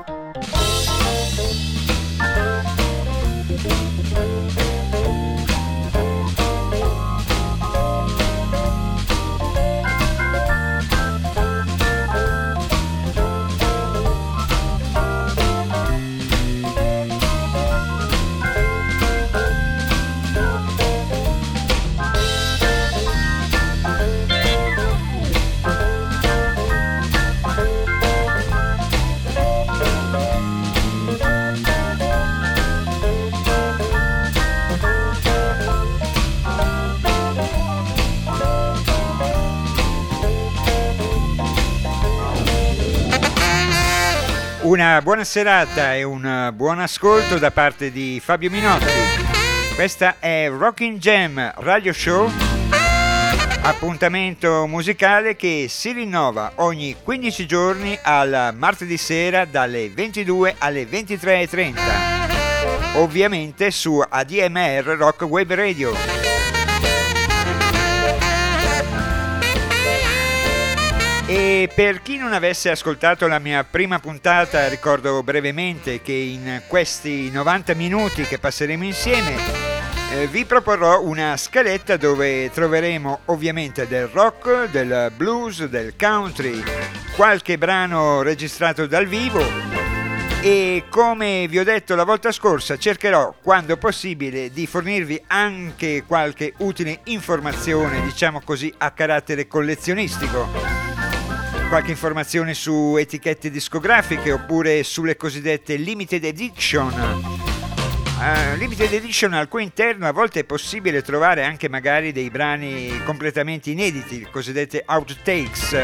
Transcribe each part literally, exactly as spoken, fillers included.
Una buona serata e un buon ascolto da parte di Fabio Minotti. Questa è Rockin' Jam Radio Show, appuntamento musicale che si rinnova ogni quindici giorni al martedì sera dalle ventidue alle ventitré e trenta, ovviamente su A D M R Rock Web Radio. E per chi non avesse ascoltato la mia prima puntata, ricordo brevemente che in questi novanta minuti che passeremo insieme eh, vi proporrò una scaletta dove troveremo ovviamente del rock, del blues, del country, qualche brano registrato dal vivo e, come vi ho detto la volta scorsa, cercherò quando possibile di fornirvi anche qualche utile informazione, diciamo così, a carattere collezionistico. Qualche informazione su etichette discografiche oppure sulle cosiddette limited edition. Uh, limited edition al cui interno a volte è possibile trovare anche magari dei brani completamente inediti, le cosiddette outtakes.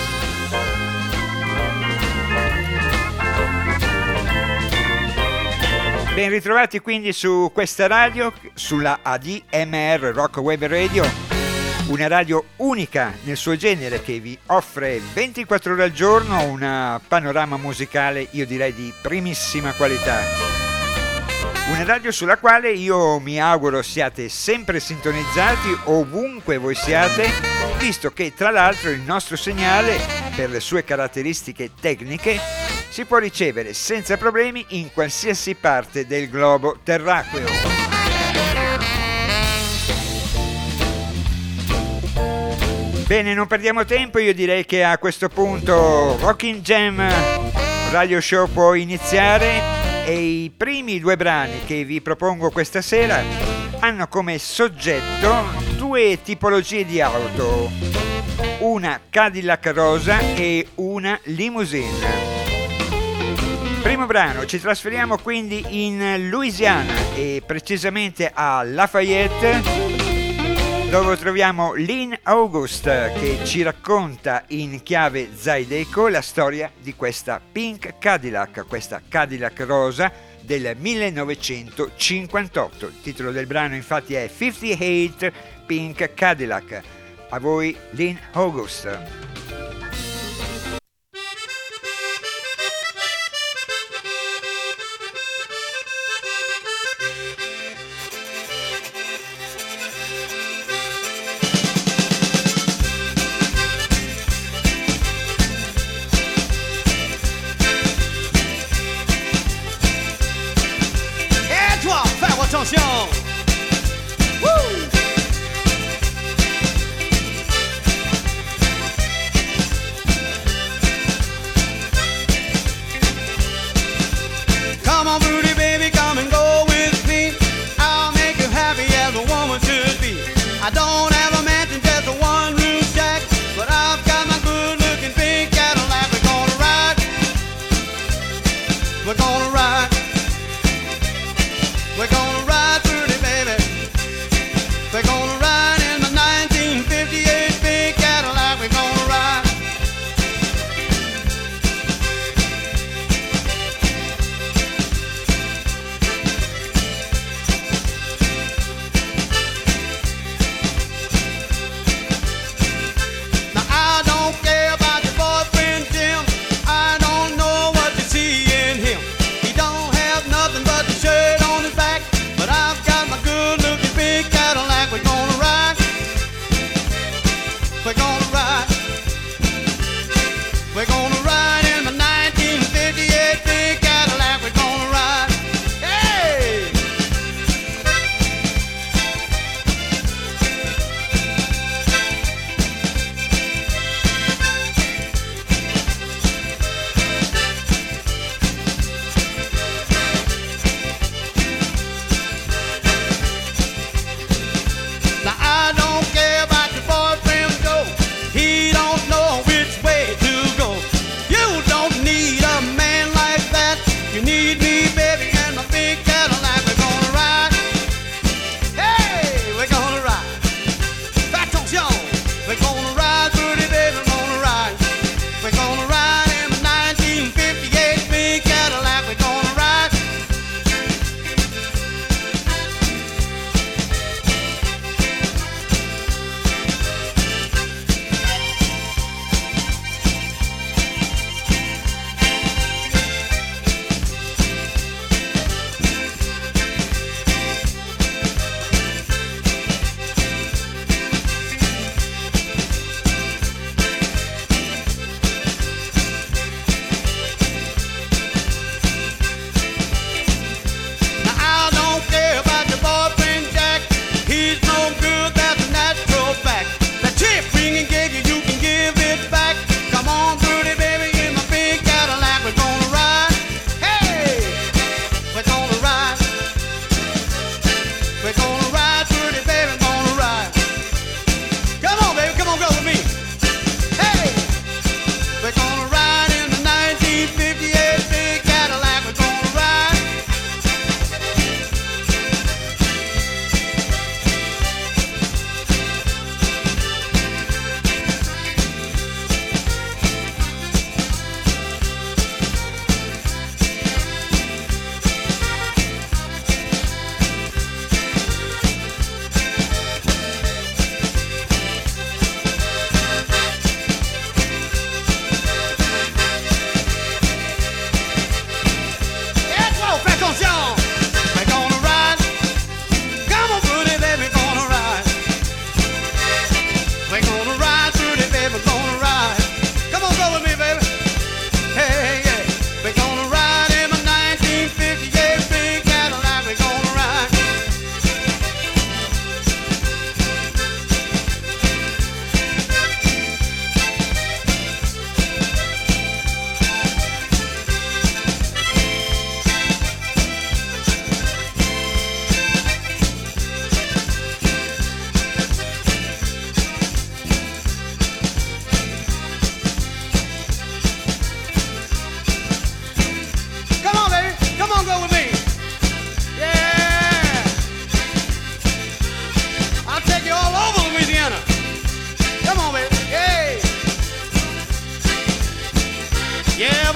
Ben ritrovati quindi su questa radio, sulla A D M R Rock Web Radio. Una radio unica nel suo genere che vi offre ventiquattro ore al giorno un panorama musicale, io direi di primissima qualità. Una radio sulla quale io mi auguro siate sempre sintonizzati ovunque voi siate, visto che tra l'altro il nostro segnale, per le sue caratteristiche tecniche, si può ricevere senza problemi in qualsiasi parte del globo terracqueo. Bene, non perdiamo tempo, io direi che a questo punto Rockin' Jam Radio Show può iniziare e i primi due brani che vi propongo questa sera hanno come soggetto due tipologie di auto, una Cadillac rosa e una limousine. Primo brano, ci trasferiamo quindi in Louisiana e precisamente a Lafayette, dove troviamo Lynn August che ci racconta in chiave Zydeco la storia di questa Pink Cadillac, questa Cadillac rosa del millenovecentocinquantotto. Il titolo del brano infatti è cinquantotto Pink Cadillac. A voi Lynn August. Attention! Woo! Come on, Rudy, baby, come and go with me. I'll make you happy as a woman should be. I don't have a mansion, just a one-room shack, but I've got my good-looking pink Cadillac. We're gonna ride. We're gonna ride. We're gonna ride, Rudy, baby.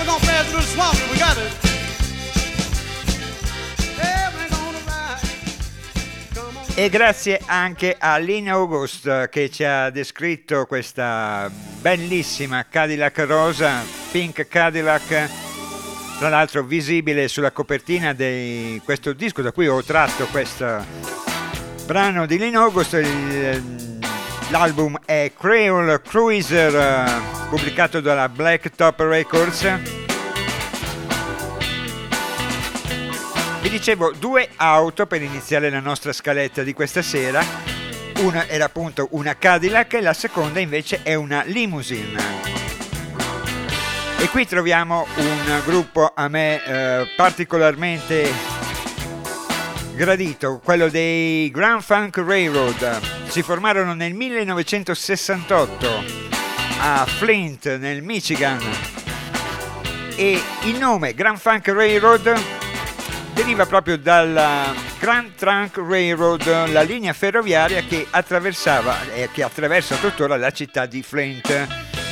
we're gonna play a little swamp if we got it. Yeah, we're gonna ride. Come on. E grazie anche a Lynn August che ci ha descritto questa bellissima Cadillac rosa, Pink Cadillac, tra l'altro visibile sulla copertina di questo disco da cui ho tratto questo brano di Lynn August. Il, l'album è Creole Cruiser, pubblicato dalla Blacktop Records. Vi dicevo, due auto per iniziare la nostra scaletta di questa sera. Una era appunto una Cadillac e la seconda invece è una limousine. E qui troviamo un gruppo a me eh, particolarmente gradito, quello dei Grand Funk Railroad. Si formarono nel millenovecentosessantotto a Flint, nel Michigan, e il nome Grand Funk Railroad deriva proprio dalla Grand Trunk Railroad, la linea ferroviaria che attraversava e che attraversa tuttora la città di Flint.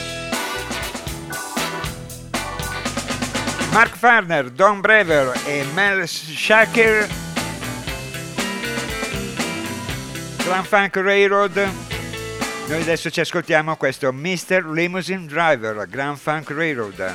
Mark Farner, Don Brever e Mel Shaker, Grand Funk Railroad. Noi adesso ci ascoltiamo questo mister Limousine Driver, Grand Funk Railroad.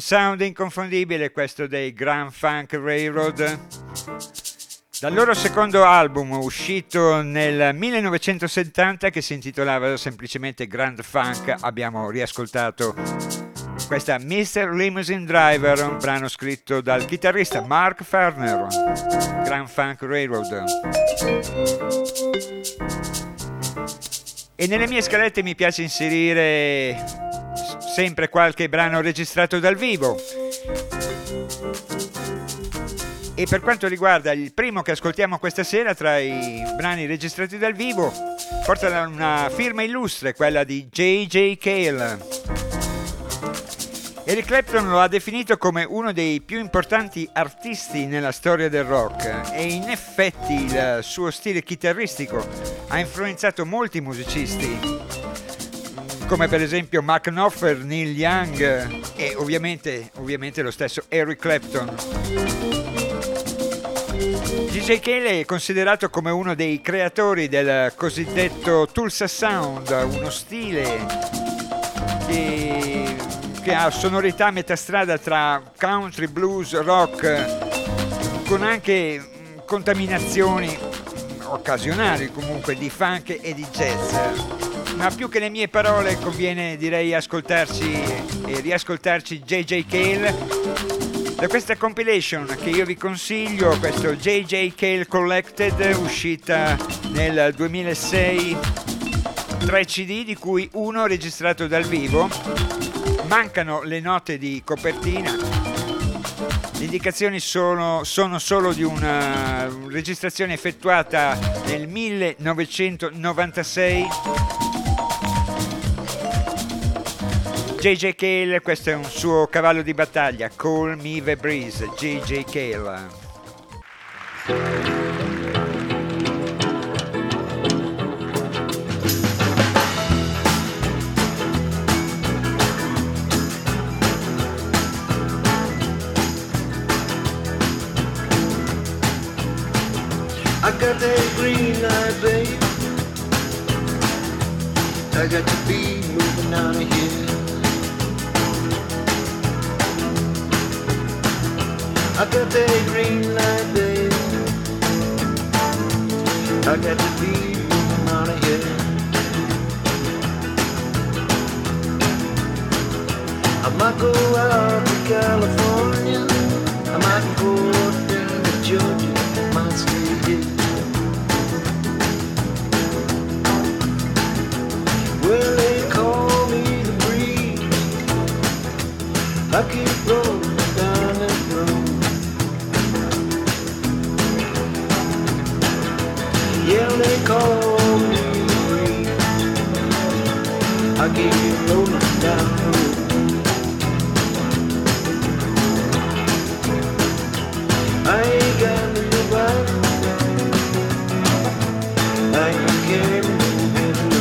sound inconfondibile, questo dei Grand Funk Railroad. Dal loro secondo album uscito nel millenovecentosettanta, che si intitolava semplicemente Grand Funk, abbiamo riascoltato questa mister Limousine Driver, un brano scritto dal chitarrista Mark Farner. Grand Funk Railroad. E nelle mie scalette mi piace inserire sempre qualche brano registrato dal vivo. E per quanto riguarda il primo che ascoltiamo questa sera tra i brani registrati dal vivo, porta una firma illustre, quella di J J Cale. Eric Clapton lo ha definito come uno dei più importanti artisti nella storia del rock, e in effetti il suo stile chitarristico ha influenzato molti musicisti, come per esempio Mark Knopfler, Neil Young e ovviamente, ovviamente lo stesso Eric Clapton. J J Cale è considerato come uno dei creatori del cosiddetto Tulsa Sound, uno stile che, che ha sonorità a metà strada tra country, blues, rock, con anche contaminazioni occasionali comunque di funk e di jazz. Ma più che le mie parole conviene, direi, ascoltarci e riascoltarci J J Cale da questa compilation che io vi consiglio, questo J J Cale Collected, uscita nel duemilasei, tre C D di cui uno registrato dal vivo. Mancano le note di copertina, le indicazioni sono, sono solo di una registrazione effettuata nel millenovecentonovantasei. J J Cale, questo è un suo cavallo di battaglia, Call Me the Breeze, J J Cale. I got that green light, babe. I got to be moving out of here. I got that green light, babe. I got to be moving out of here. I might go out to California. I might go up into Georgia. I might stay here. Well, they call me the breeze. I keep rolling down that road. Yeah, they call me the breeze. I keep rolling down the road. I ain't got nobody. I ain't carrying no hello.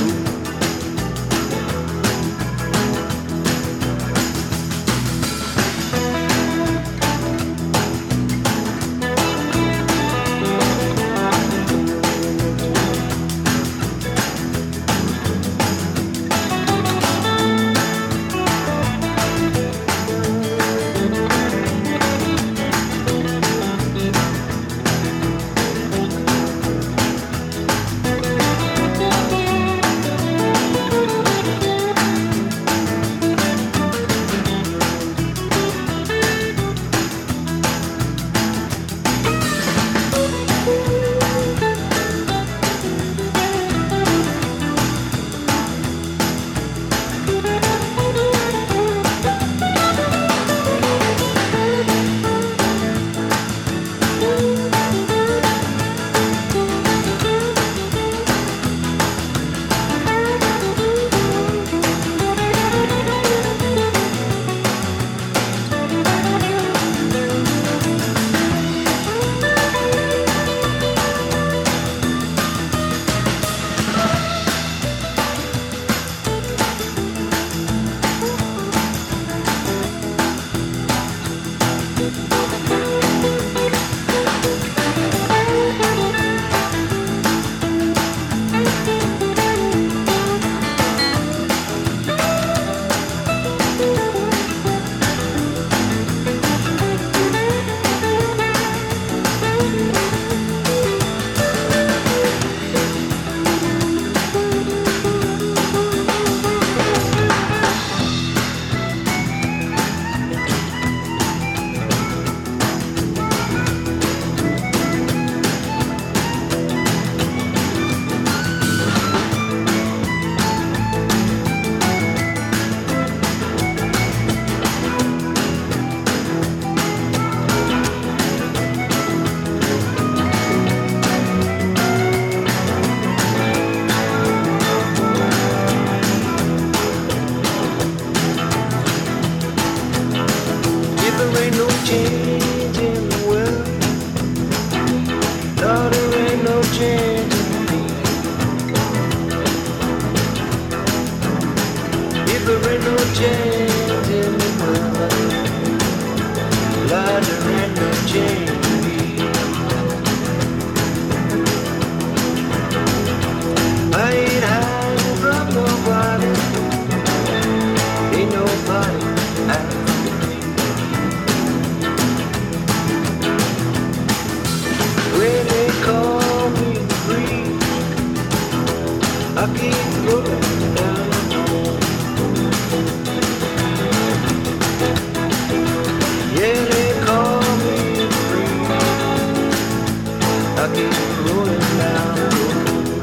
rolling down the road.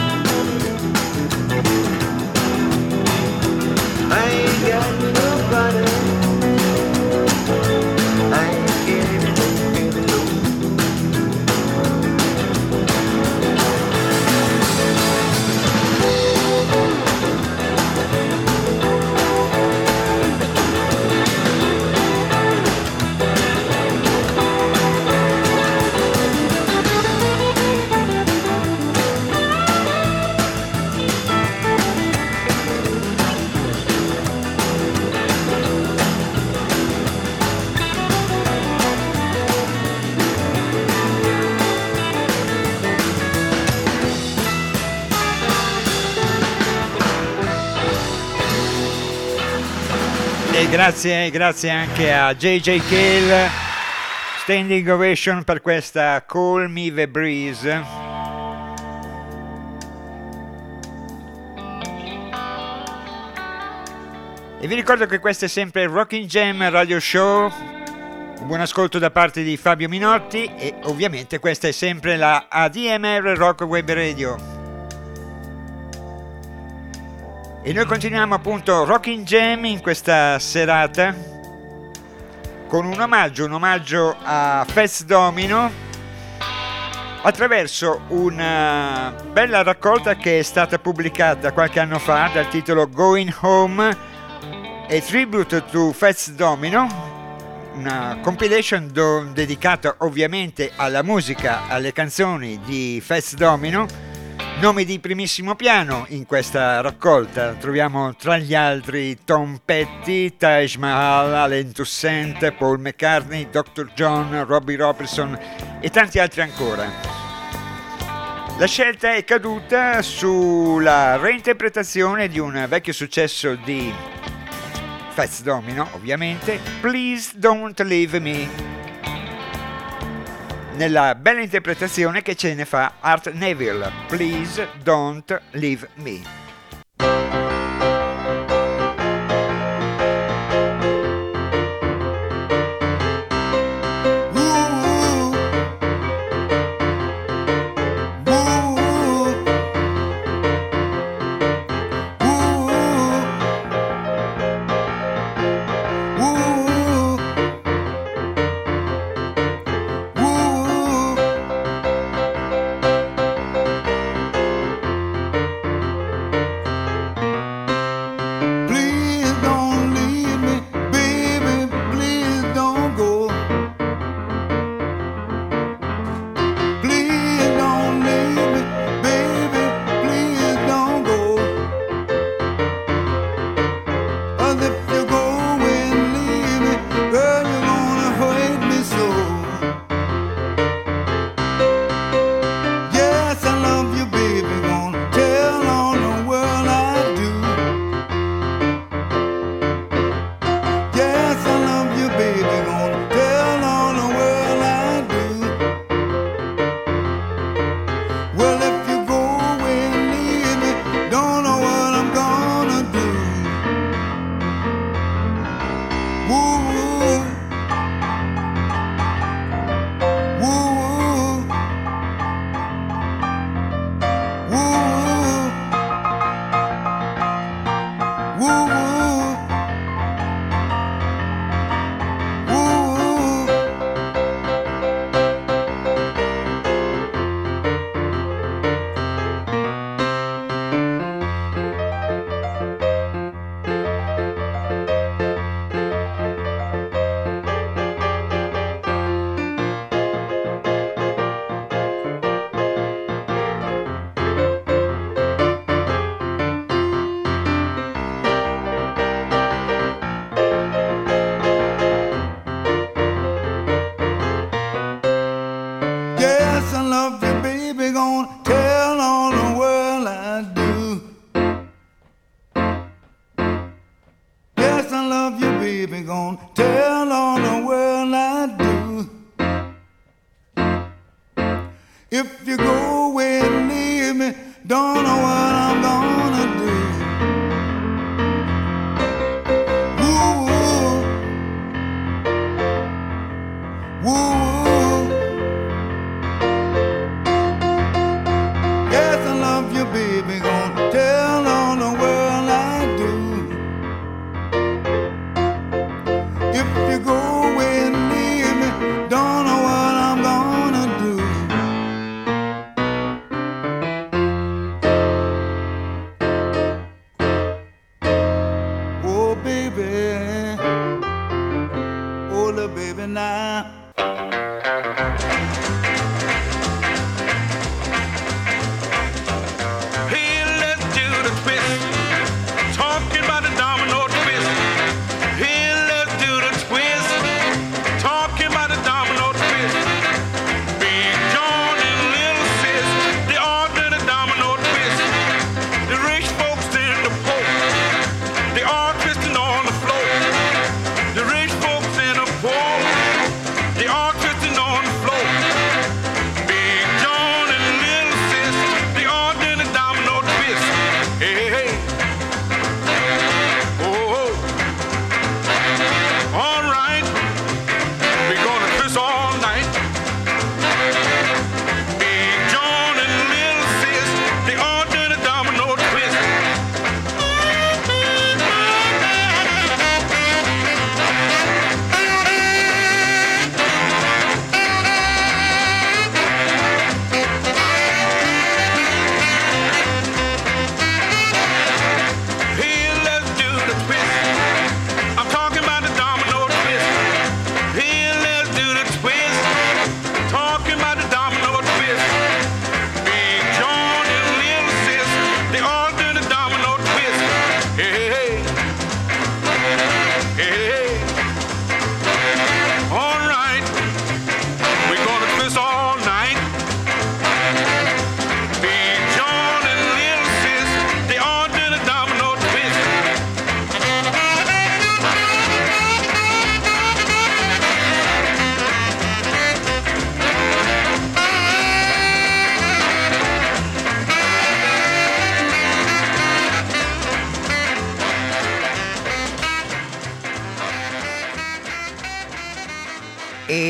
I ain't got nobody. I ain't getting really low. E grazie, grazie anche a J J Cale, standing ovation per questa Call Me the Breeze. E vi ricordo che questo è sempre il Rocking Jam Radio Show. Buon ascolto da parte di Fabio Minotti e ovviamente questa è sempre la A D M R Rock Web Radio. E noi continuiamo appunto Rocking Jam in questa serata con un omaggio, un omaggio a Fats Domino attraverso una bella raccolta che è stata pubblicata qualche anno fa dal titolo Going Home, a tribute to Fats Domino, una compilation do- dedicata ovviamente alla musica, alle canzoni di Fats Domino. Nomi di primissimo piano in questa raccolta, troviamo tra gli altri Tom Petty, Taj Mahal, Alain Toussaint, Paul McCartney, doctor John, Robbie Robertson e tanti altri ancora. La scelta è caduta sulla reinterpretazione di un vecchio successo di Fats Domino, ovviamente, Please Don't Leave Me, nella bella interpretazione che ce ne fa Art Neville, Please Don't Leave Me. If you go away and leave me, don't know what I'm gonna do. Woo, woo, woo.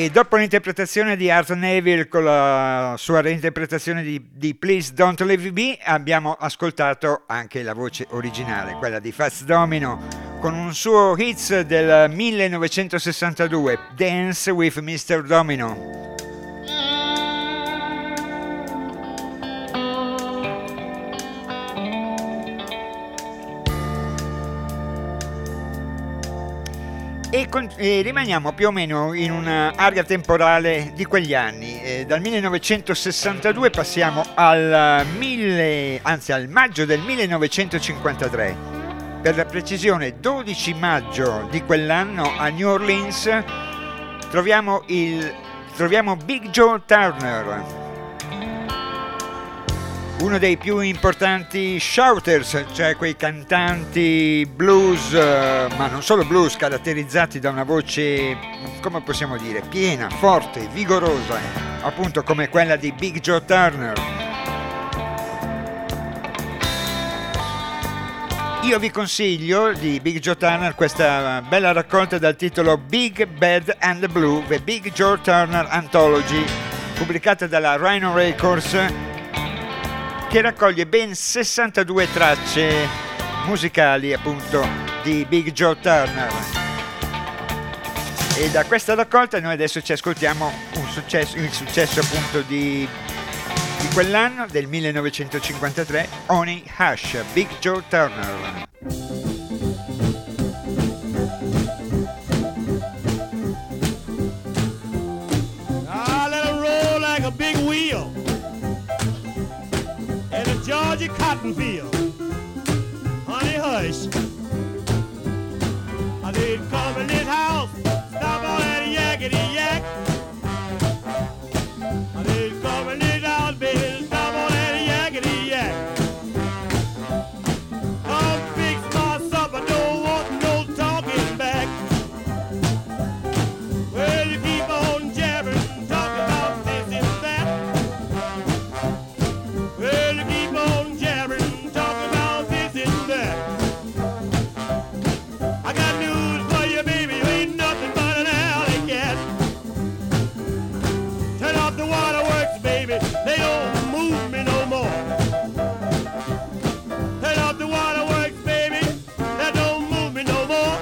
E dopo l'interpretazione di Art Neville con la sua reinterpretazione di, di Please Don't Leave Me, abbiamo ascoltato anche la voce originale, quella di Fats Domino, con un suo hits del millenovecentosessantadue, Dance with mister Domino. E, con, e rimaniamo più o meno in un'area temporale di quegli anni. Eh, dal millenovecentosessantadue passiamo al, mille, anzi, al maggio del millenovecentocinquantatré. Per la precisione dodici maggio di quell'anno a New Orleans troviamo, il, troviamo Big Joe Turner, uno dei più importanti shouters, cioè quei cantanti blues, ma non solo blues, caratterizzati da una voce, come possiamo dire, piena, forte, vigorosa, appunto come quella di Big Joe Turner. Io vi consiglio di Big Joe Turner questa bella raccolta dal titolo Big, Bad and Blue, The Big Joe Turner Anthology, pubblicata dalla Rhino Records, che raccoglie ben sessantadue tracce musicali appunto di Big Joe Turner. E da questa raccolta noi adesso ci ascoltiamo un successo, il successo appunto di, di quell'anno, del millenovecentocinquantatré, Honey Hush, Big Joe Turner. I let it roll like a big wheel in a Georgia cotton field. Honey hush, I did come in this house, stop all that yakety yak. I did come in this house, baby, stop all that yakety yak. Come fix my supper, don't want no talking back. Well, you keep on jabbering, talking about this and that. Well, you keep on jabbering, talking about this and that. I got news for you, baby, you ain't nothing but an alley cat. Turn off the waterworks, baby, they don't move me no more. Turn off the waterworks, baby, that don't move me no more.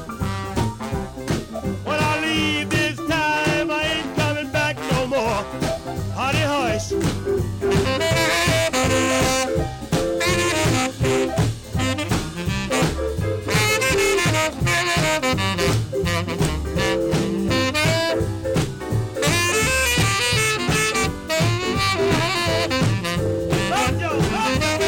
When I leave this time, I ain't coming back no more. Honey hush. Banjo, banjo.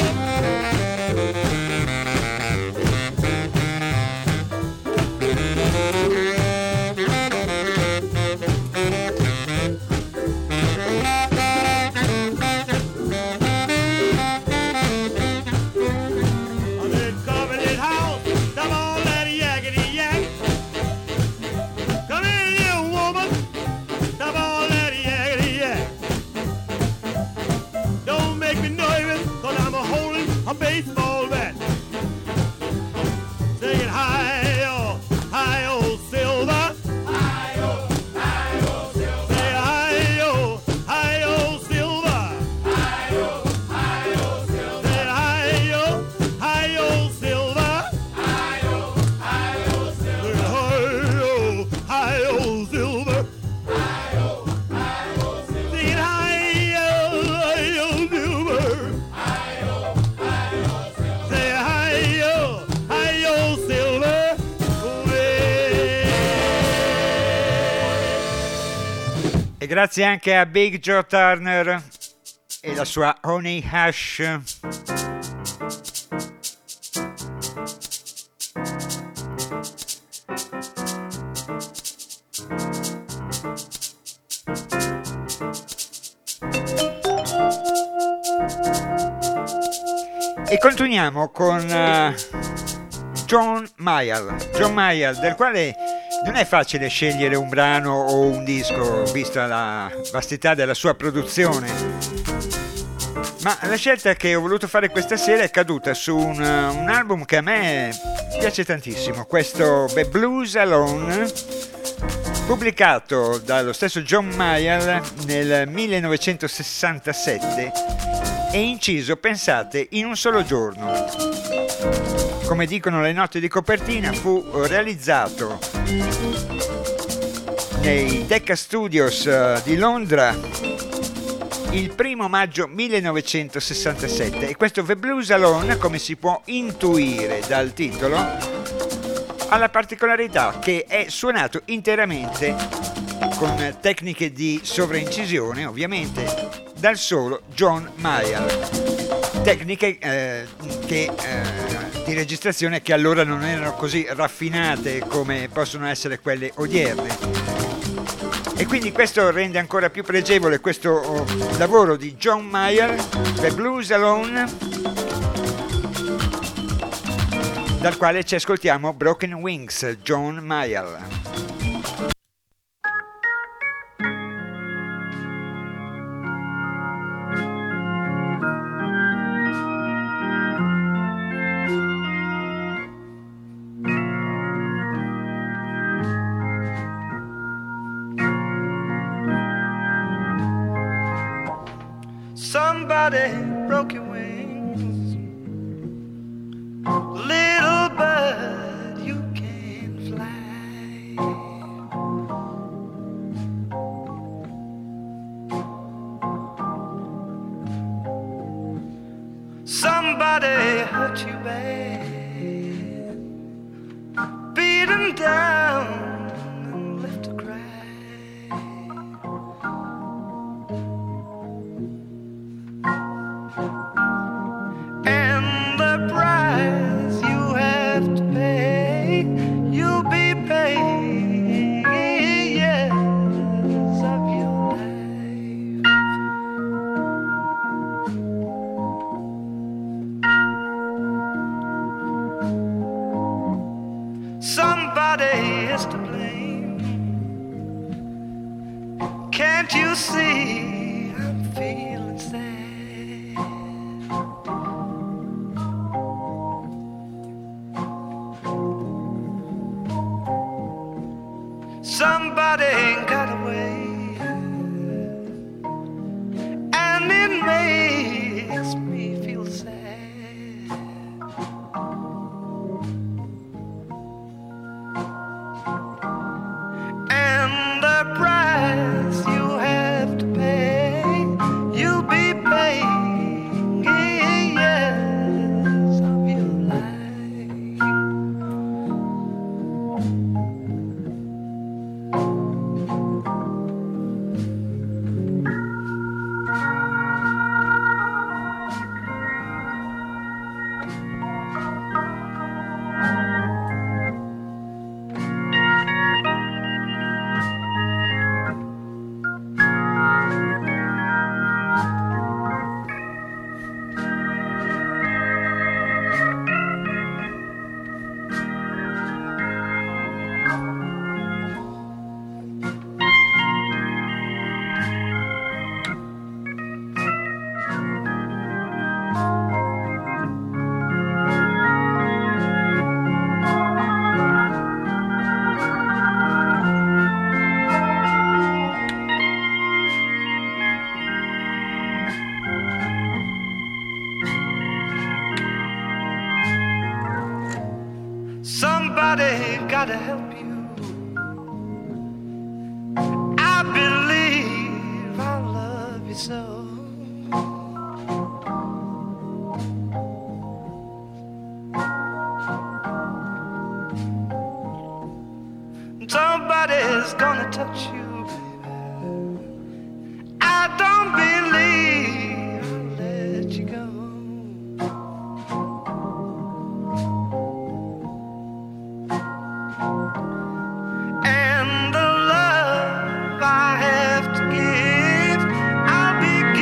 I'm in Covenant House, stop all that yakety yak. Come in here, woman, stop all that yakety yak. Don't make me nervous, cause I'm a holding a baseball bat. Sing it high, oh, high, oh, silver. High, oh, high, oh, silver. Say high, oh, high, oh, silver. High, oh, high, oh, silver. Say high, oh, high, oh, silver. High, oh, high, oh, silver. Say high, oh, high, oh, silver. High, oh, high, oh, silver. Sing it high, oh, high, oh, silver. High, oh, high, oh, silver. Say high, oh, high, oh, silver. E grazie anche a Big Joe Turner e la sua Honey Hush. E continuiamo con uh, John Mayall. John Mayall, del quale non è facile scegliere un brano o un disco, vista la vastità della sua produzione. Ma la scelta che ho voluto fare questa sera è caduta su un, un album che a me piace tantissimo, questo The Blues Alone, pubblicato dallo stesso John Mayall nel millenovecentosessantasette e inciso, pensate, in un solo giorno. Come dicono le note di copertina, fu realizzato nei Decca Studios di Londra il primo maggio millenovecentosessantasette, e questo The Blues Alone, come si può intuire dal titolo, ha la particolarità che è suonato interamente con tecniche di sovraincisione, ovviamente, dal solo John Mayall. Tecniche eh, che, eh, di registrazione che allora non erano così raffinate come possono essere quelle odierne. E quindi questo rende ancora più pregevole questo oh, lavoro di John Mayall, The Blues Alone, dal quale ci ascoltiamo Broken Wings, John Mayall. Somebody broke your wings, little bird, you can fly. Somebody hurt you bad, beat 'em down and left to cry. And the price you have to pay, you'll be paying years of your life. Somebody is to blame. Can't you see I'm feeling sad? Somebody got away, and it makes me feel sad. And the price you have to pay, you'll be paying years of your life. Somebody gotta help you. I believe I love you so. Somebody's gonna touch you, baby. I don't believe I'll let you go. And the love I have to give, I'll be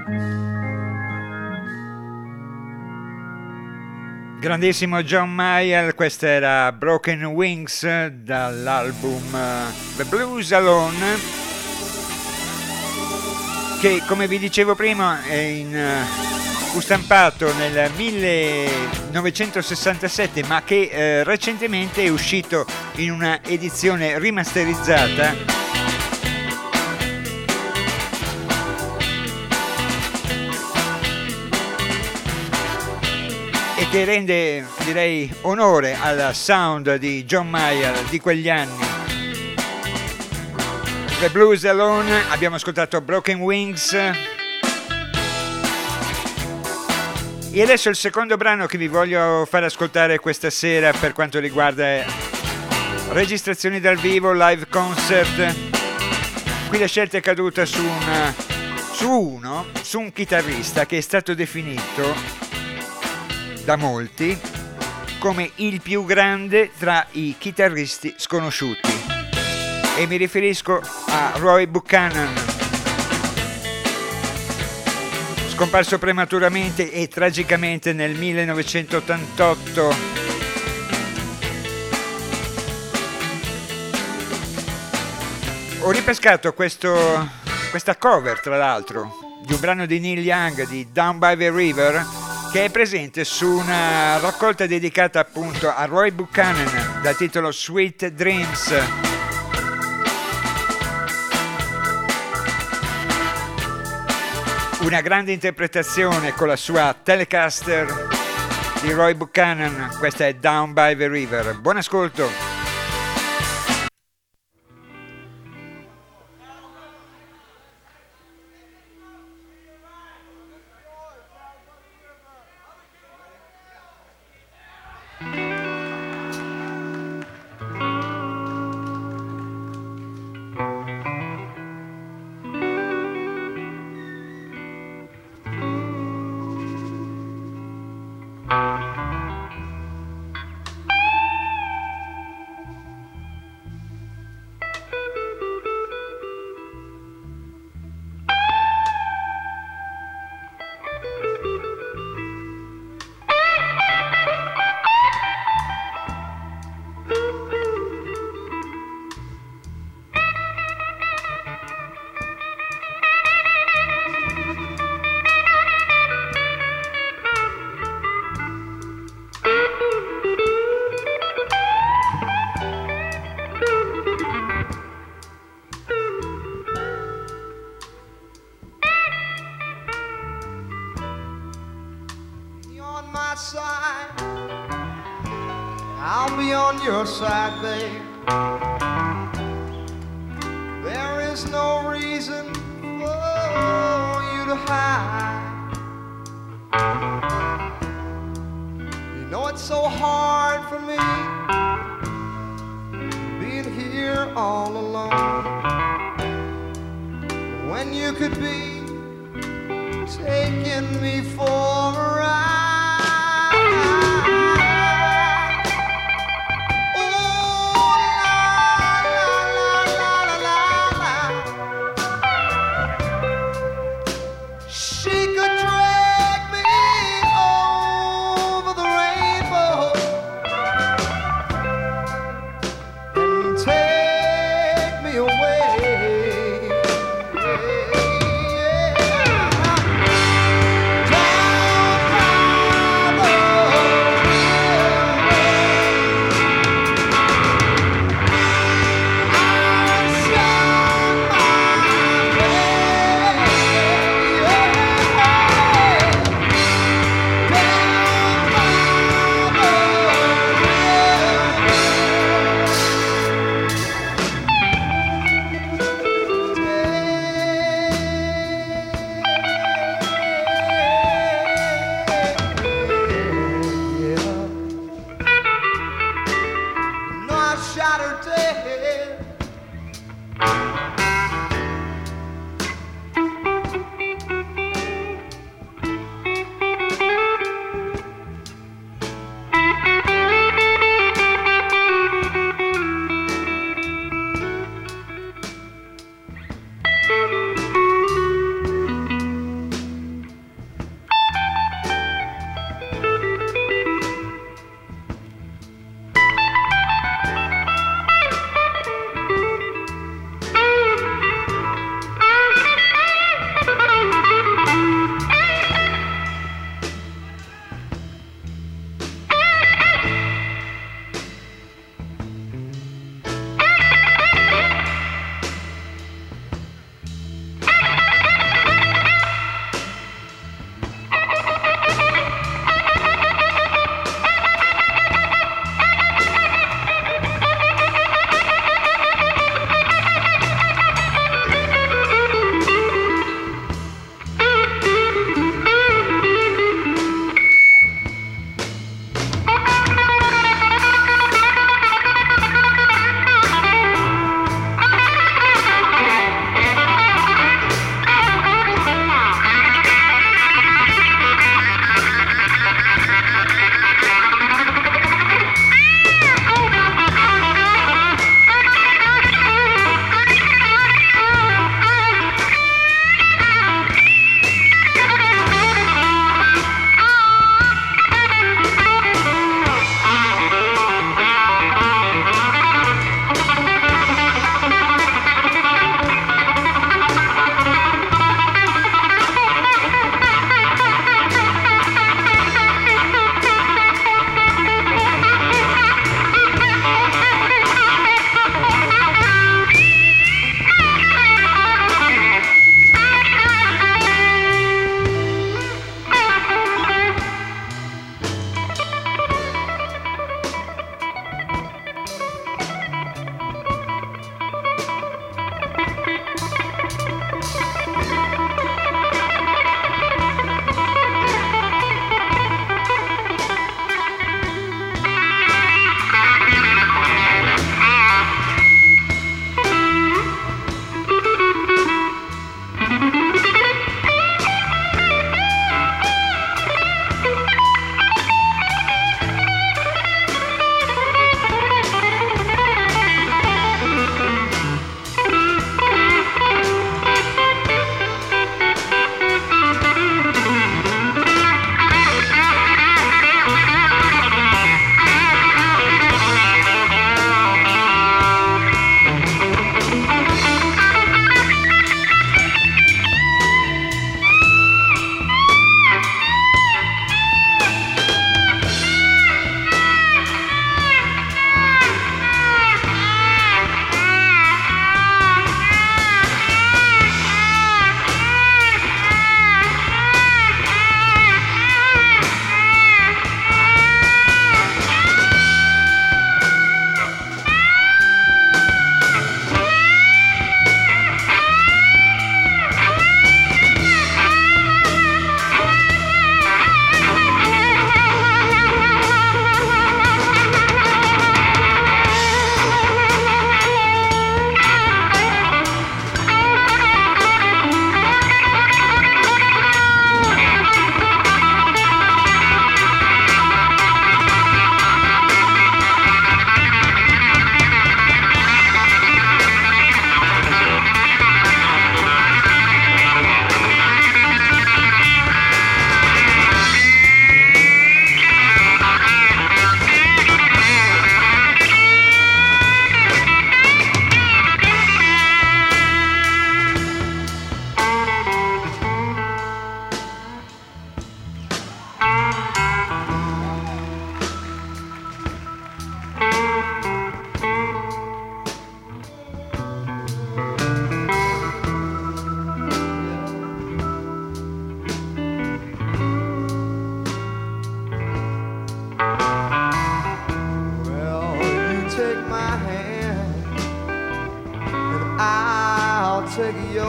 Grandissimo John Mayall, questa era Broken Wings dall'album uh, The Blues Alone, che come vi dicevo prima è in, uh, fu stampato nel millenovecentosessantasette, ma che uh, recentemente è uscito in una edizione rimasterizzata e che rende, direi, onore al sound di John Mayall di quegli anni. The Blues Alone, abbiamo ascoltato Broken Wings e adesso il secondo brano che vi voglio far ascoltare questa sera per quanto riguarda registrazioni dal vivo, live concert. Qui la scelta è caduta su, una, su uno, su un chitarrista che è stato definito da molti come il più grande tra i chitarristi sconosciuti, e mi riferisco a Roy Buchanan, scomparso prematuramente e tragicamente nel millenovecentottantotto. Ho ripescato questo, questa cover, tra l'altro, di un brano di Neil Young, di Down by the River, che è presente su una raccolta dedicata appunto a Roy Buchanan dal titolo Sweet Dreams. Una grande interpretazione con la sua Telecaster di Roy Buchanan, questa è Down by the River. Buon ascolto. Side, babe. There is no reason for you to hide. You know it's so hard for me being here all alone when you could be taking me for a ride. Down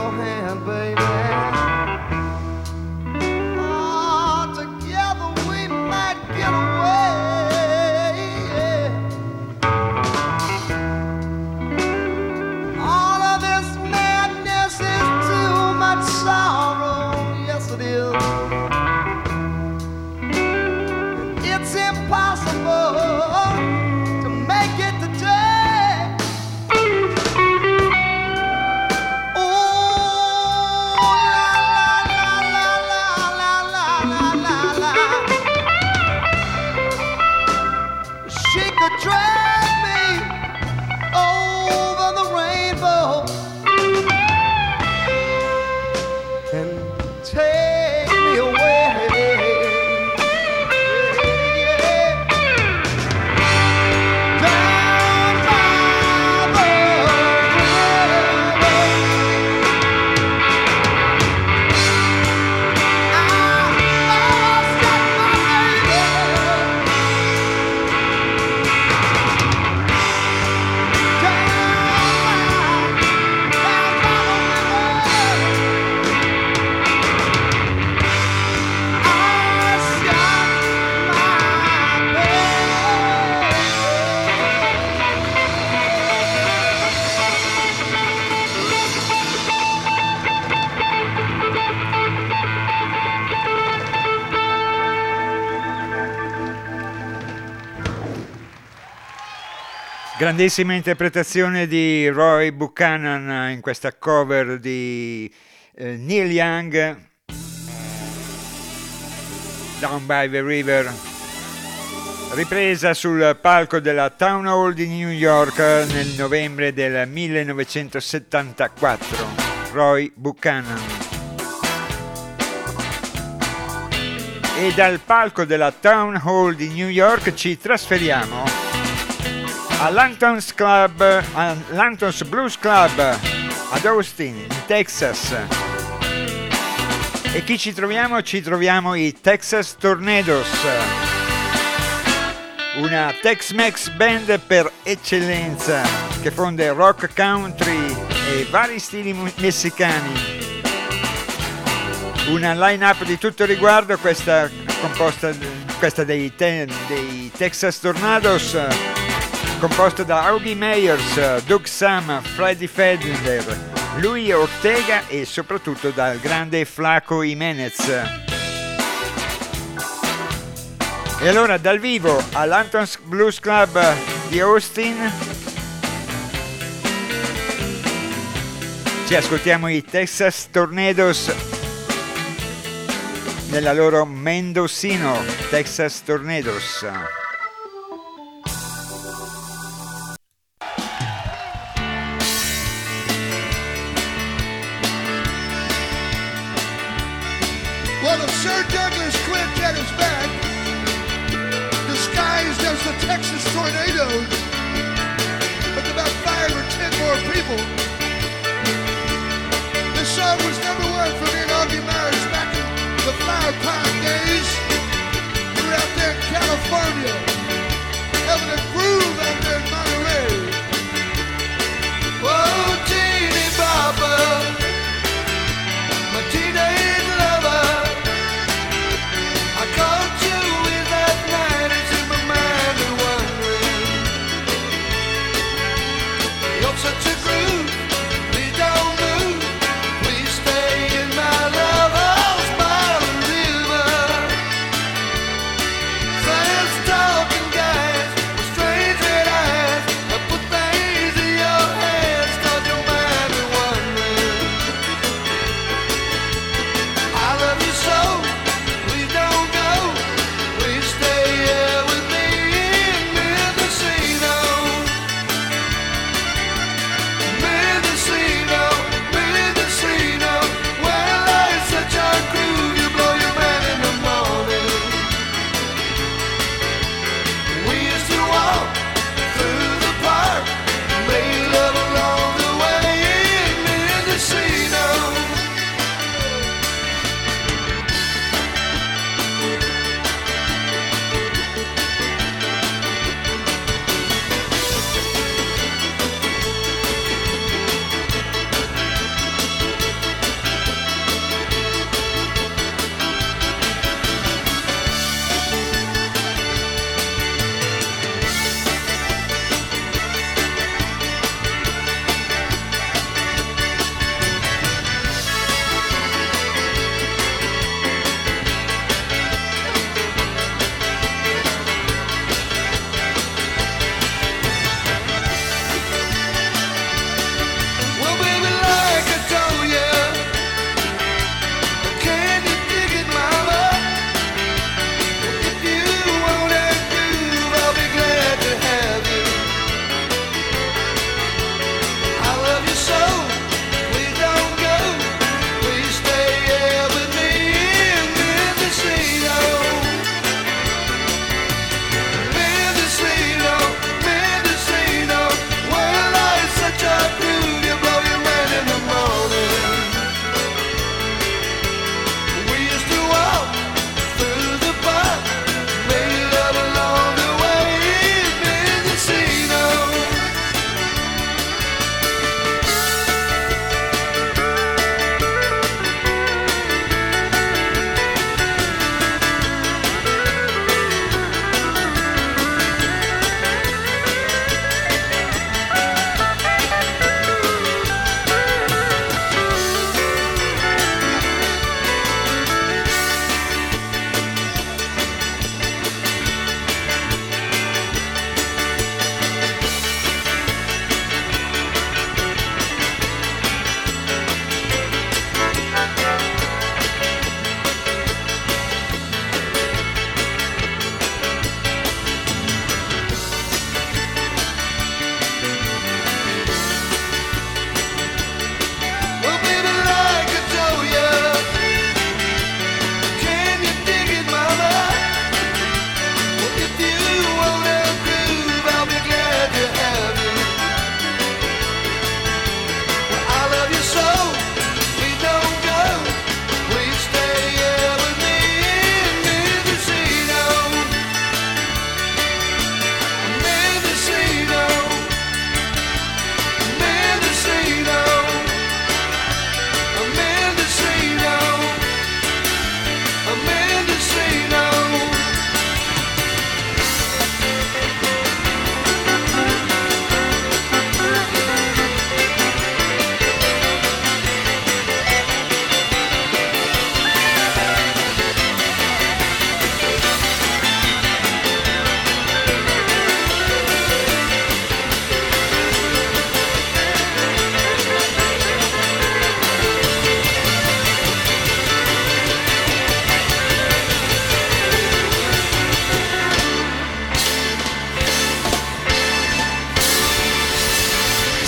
your hand, baby. Oh, together we might get away. All of this madness is too much sorrow. Yes, it is. It's impossible to make it today. Oh, la la la la la la la la. She could drag me over the rainbow and take me away. Down by the river. I lost my baby. Down by, down by the Grandissima interpretazione di Roy Buchanan in questa cover di eh, Neil Young, Down by the River, ripresa sul palco della Town Hall di New York nel novembre del millenovecentosettantaquattro. Roy Buchanan. E dal palco della Town Hall di New York ci trasferiamo all'Hamptons Club, all'Hamptons Blues Club ad Austin, in Texas. E chi ci troviamo? Ci troviamo i Texas Tornadoes, una Tex-Mex band per eccellenza che fonde rock, country e vari stili mu- messicani. Una line-up di tutto riguardo, questa composta questa dei, te- dei Texas Tornadoes, composto da Augie Meyers, Doug Sam, Freddie Fender, Louis Ortega e soprattutto dal grande Flaco Jimenez. E allora dal vivo all'Hamptons Blues Club di Austin ci ascoltiamo i Texas Tornadoes nella loro Mendocino, Texas Tornadoes. Well, if Sir Douglas Quintet is back, disguised as the Texas Tornadoes, with about five or ten more people. This song was number one for me and Augie Myers back in the Flower Pound days. We were out there in California, having a groove out there in Monterey. Oh, teeny bopper, my teenage lover. I caught you in that night, it's in my mind and wondering. You're such a groove, please don't move, please stay in my love. Oh,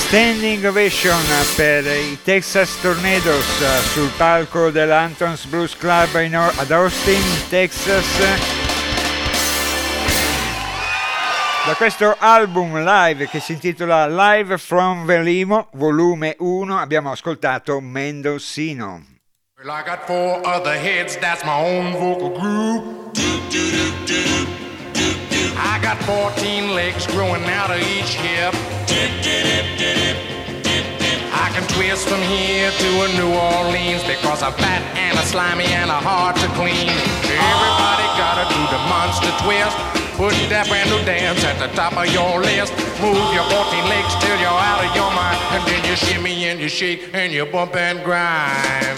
Standing ovation per i Texas Tornadoes sul palco dell'Hamptons Blues Club in Or- ad Austin, Texas. Da questo album live che si intitola Live from Velimo, volume uno, abbiamo ascoltato Mendocino. Well, I got four other heads, that's my own vocal group. I got fourteen legs growing out of each hip. I can twist from here to a New Orleans because I'm fat and a slimy and a hard to clean. Everybody gotta do the monster twist. Put that brand new dance at the top of your list. Move your fourteen legs till you're out of your mind. And then you shimmy and you shake and you bump and grind.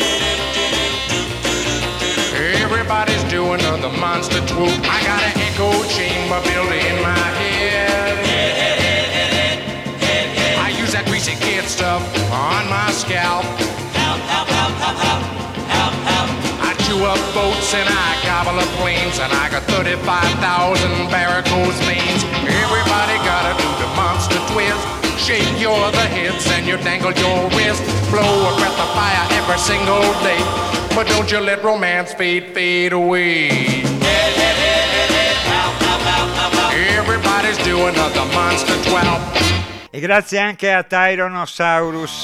Everybody's doing the monster swoop. I got an echo chamber built in my head. I use that greasy kid stuff on my scalp. Help, help, help, help, help, help, help. I chew up boats and I gobble up planes, and I got thirty-five thousand varicose veins. Everybody gotta do the monster twist. Shake your other hips and you dangle your wrist. Blow a breath of fire every single day. But don't you let romance fade, fade away. Everybody's doing the monster twelve. E grazie anche a Tyrannosaurus.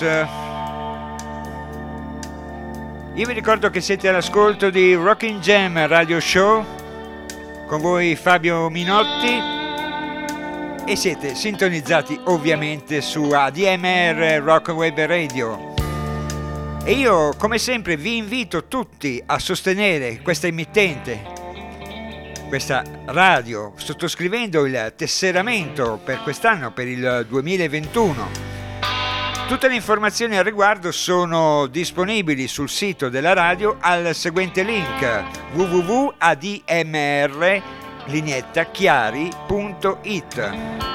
Io vi ricordo che siete all'ascolto di Rockin' Jam Radio Show, con voi Fabio Minotti, e siete sintonizzati ovviamente su A D M R Rock Web Radio. E io, come sempre, vi invito tutti a sostenere questa emittente, questa radio, sottoscrivendo il tesseramento per quest'anno, per il duemilaventuno. Tutte le informazioni al riguardo sono disponibili sul sito della radio al seguente link: w w w punto a d m r lineetta chiari punto i t.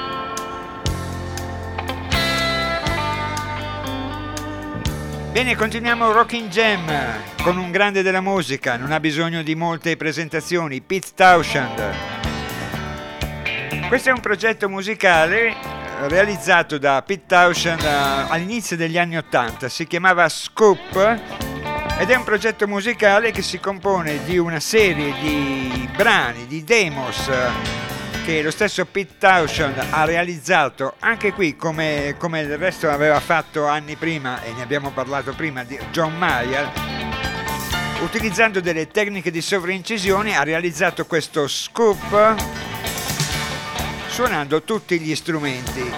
Bene, continuiamo Rockin' Jam con un grande della musica, non ha bisogno di molte presentazioni, Pete Townshend. Questo è un progetto musicale realizzato da Pete Townshend all'inizio degli anni ottanta, si chiamava Scoop, ed è un progetto musicale che si compone di una serie di brani, di demos, che lo stesso Pete Townshend ha realizzato anche qui, come, come il resto aveva fatto anni prima, e ne abbiamo parlato prima, di John Mayer. Utilizzando delle tecniche di sovraincisione ha realizzato questo scoop suonando tutti gli strumenti.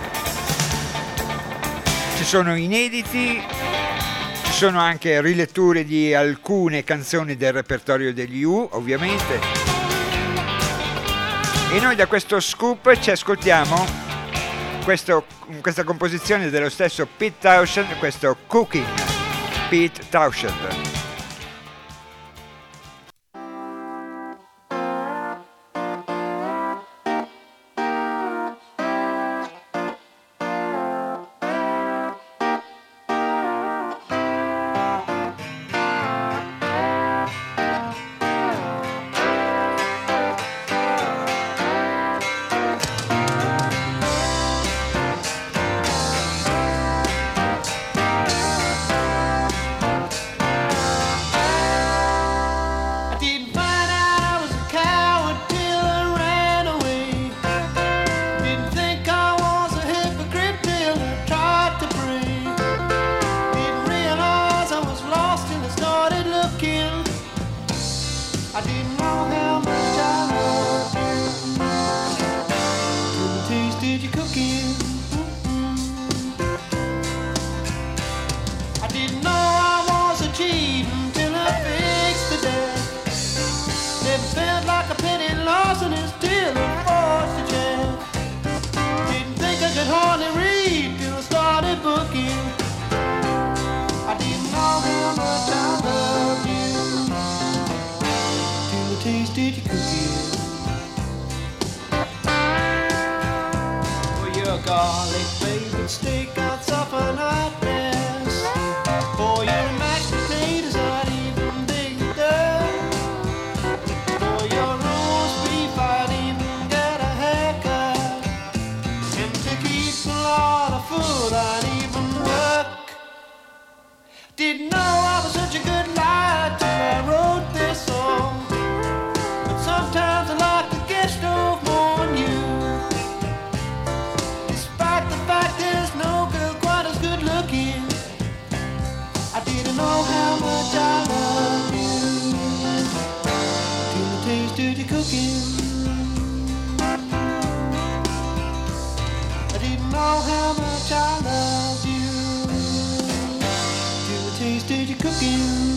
Ci sono inediti, ci sono anche riletture di alcune canzoni del repertorio degli U, ovviamente. E noi da questo scoop ci ascoltiamo questo, questa composizione dello stesso Pete Townshend, questo Cooking, Pete Townshend. Food. tasty cooking. I didn't know how much I loved you till I tasted your cooking.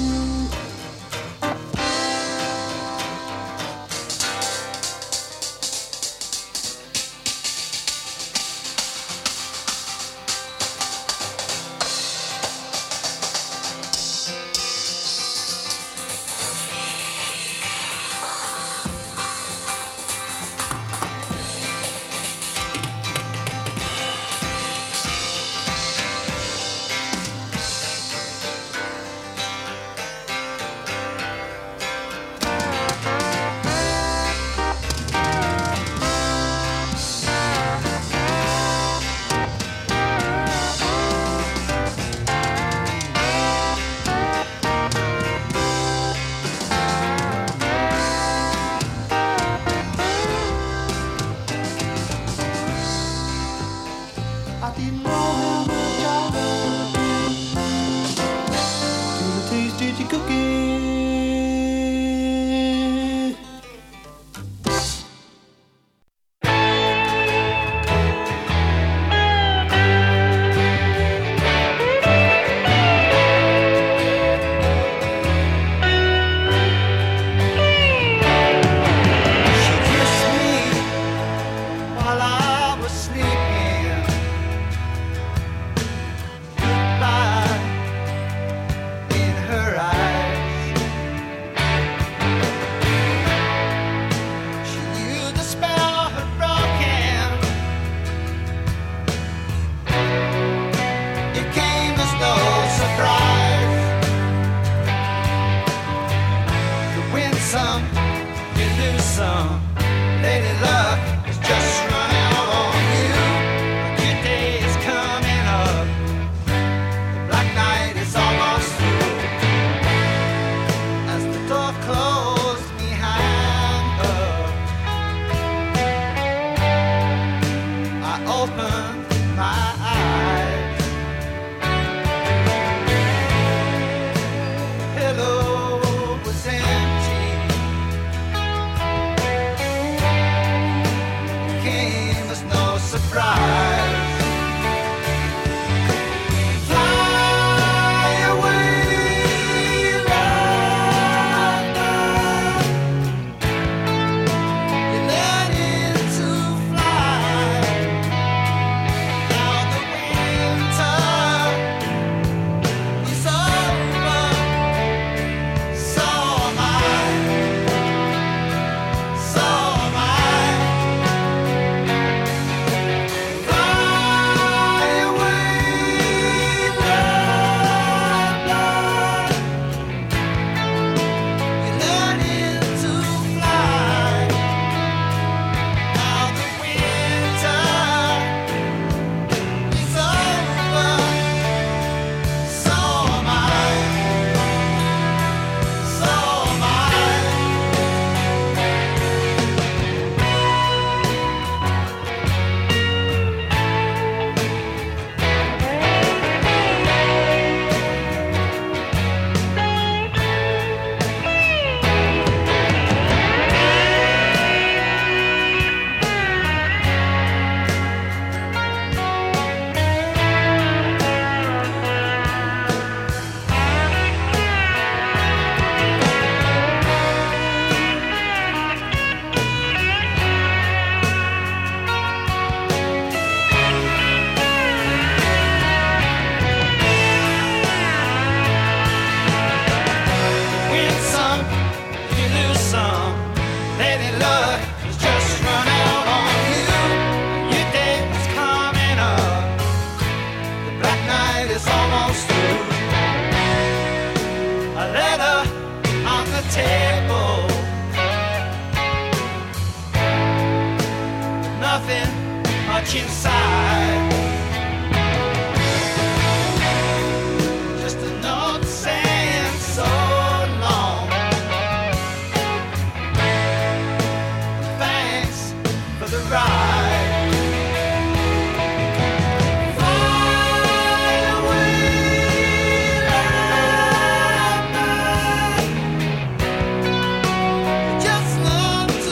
Just love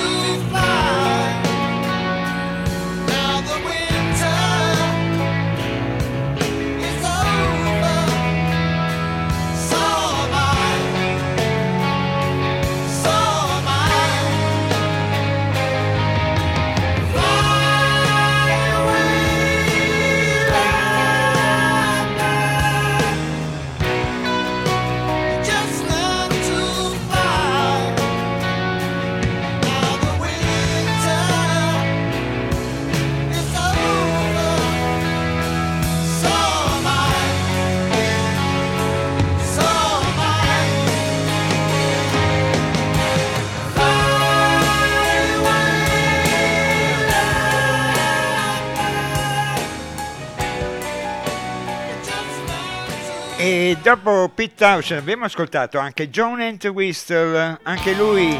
dopo Pete Townshend abbiamo ascoltato anche John Entwistle, anche lui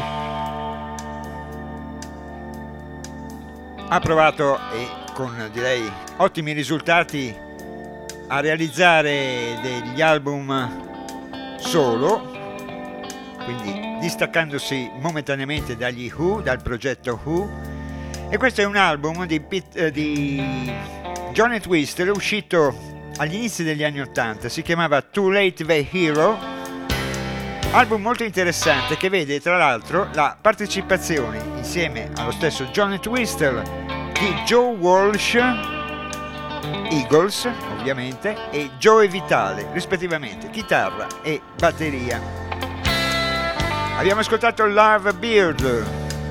ha provato, e con direi ottimi risultati, a realizzare degli album solo, quindi distaccandosi momentaneamente dagli Who, dal progetto Who. E questo è un album di, Pete, eh, di John Entwistle uscito agli inizi degli anni ottanta, si chiamava Too Late the Hero, album molto interessante che vede tra l'altro la partecipazione insieme allo stesso John Entwistle di Joe Walsh, Eagles ovviamente, e Joey Vitale rispettivamente chitarra e batteria. Abbiamo ascoltato Love Beard,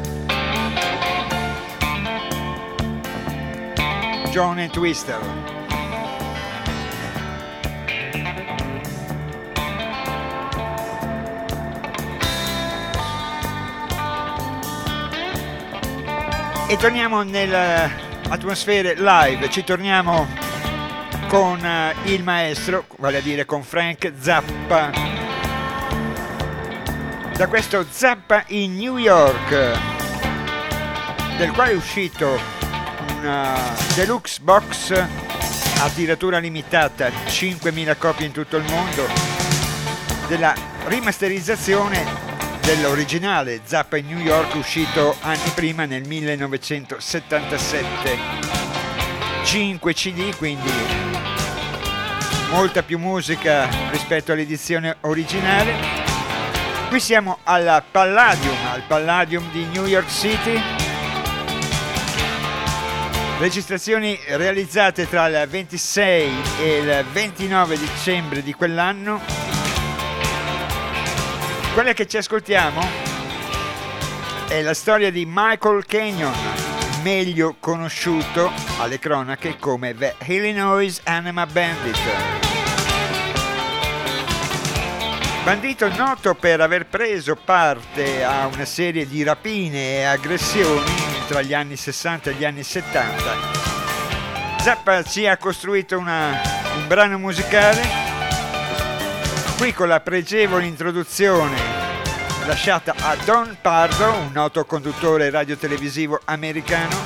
John Entwistle. E torniamo nelle atmosfere live, ci torniamo con uh, il maestro, vale a dire con Frank Zappa, da questo Zappa in New York, del quale è uscito una deluxe box a tiratura limitata, cinquemila copie in tutto il mondo, della rimasterizzazione dell'originale Zappa in New York, uscito anni prima nel millenovecentosettantasette. cinque C D, quindi molta più musica rispetto all'edizione originale. Qui siamo alla Palladium, al Palladium di New York City. Registrazioni realizzate tra il ventisei e il ventinove dicembre di quell'anno. Quella che ci ascoltiamo è la storia di Michael Kenyon, meglio conosciuto alle cronache come The Illinois Anima Bandit. Bandito noto per aver preso parte a una serie di rapine e aggressioni tra gli anni sessanta e gli anni settanta. Zappa ci ha costruito una, un brano musicale, qui con la pregevole introduzione lasciata a Don Pardo, un noto conduttore radiotelevisivo americano.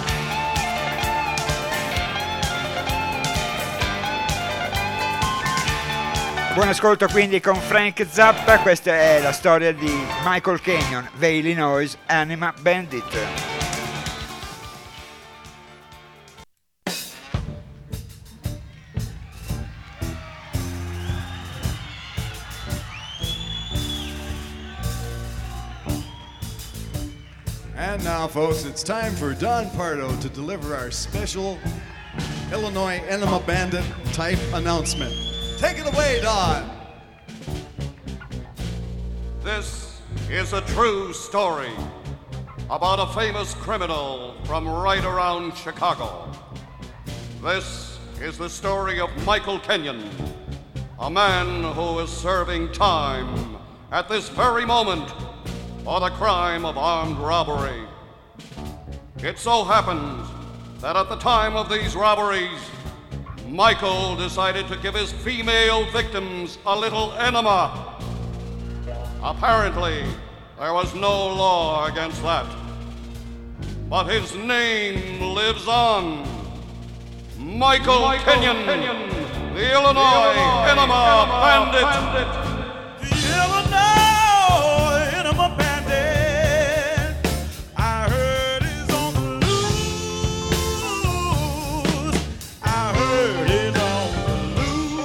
Buon ascolto quindi con Frank Zappa, questa è la storia di Michael Kenyon, The Illinois Anima Bandit. And now, folks, it's time for Don Pardo to deliver our special Illinois Enema Bandit type announcement. Take it away, Don. This is a true story about a famous criminal from right around Chicago. This is the story of Michael Kenyon, a man who is serving time at this very moment for the crime of armed robbery. It so happened that at the time of these robberies, Michael decided to give his female victims a little enema. Apparently, there was no law against that. But his name lives on. Michael, Michael Kenyon, Kenyon, the Illinois, the Illinois Enema, Enema Bandit. Bandit. The Illinois Enema Bandit. I heard he's on the loose. I heard he's on the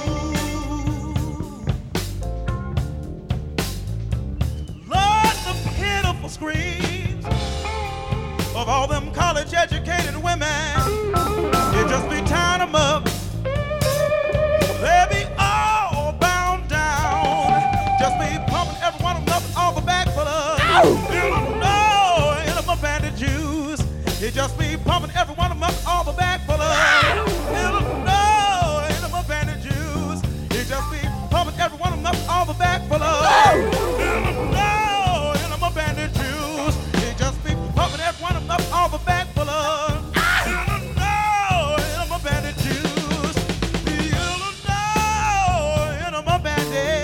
loose. Lord, the pitiful screams of all them college-educated women. It just be tying them up. They be all bound down. Just be pumping every one of them up all the back full of Illinois Enema Bandit juice. It just be pumping every one of them up all the back full of Illinois Enema Bandit juice. It just be pumping every one of them up all the back full of Illinois Enema Bandit juice. It just be pumping every one of them up all the back full of Illinois Enema Bandit juice. The Illinois Enema Bandit.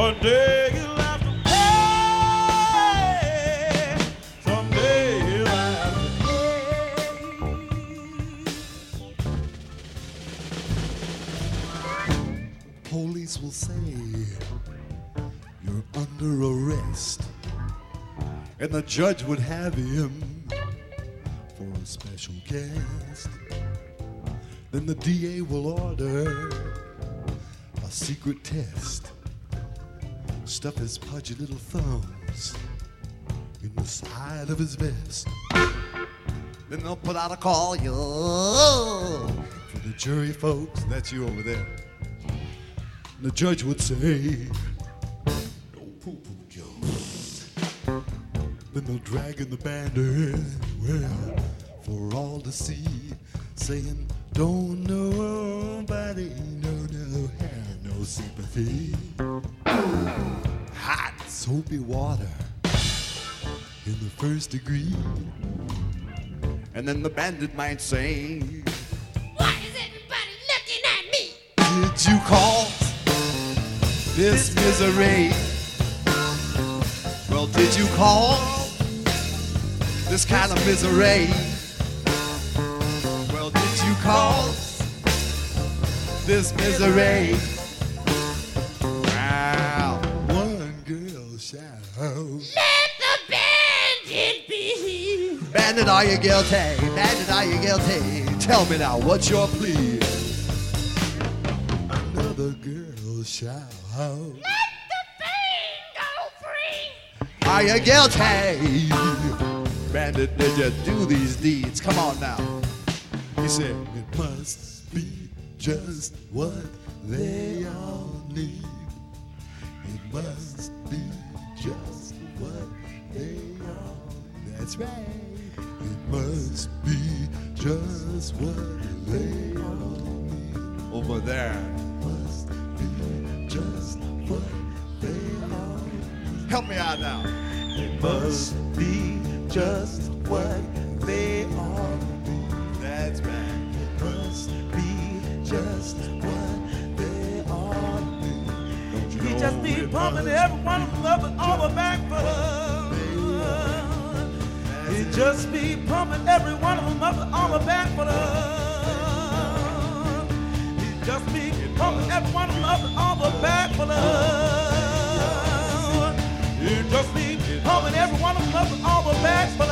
One day he'll have to pay. Someday he'll have to pay. Police will say you're under arrest, and the judge would have him for a special guest. Then the D A will order a secret test. Stuff his pudgy little thumbs in the side of his vest. Then they'll put out a call, yo, for the jury folks. That's you over there. The judge would say, no poo-poo jokes. Then they'll drag in the band in, well, for all to see, saying, don't nobody, no, no, have no sympathy. Hot soapy water in the first degree. And then the bandit might say, why is everybody looking at me? did you call this misery? Well, did you call this kind of misery? Well, did you call this misery? Wow. One girl shout, Let the bandit be. bandit, are you guilty? Bandit, are you guilty? Tell me now, what's your plea? Another girl shout, Let the band go free. are you guilty? Bandit, did you do these deeds? Come on now. He said, it must be just what they all need. It must be just what they all need. That's right. It must be just what they all need. Over there. It must be just what they all need. Help me out now. It must be just what they all need. That's right. It must be just what they all need. Don't you He know just be it pumping must every one of them up and all the back for He just be pumping every one of them up and all the back for He just be pumping every one of them up and all the back for He just be pumping every one of them up and all the back for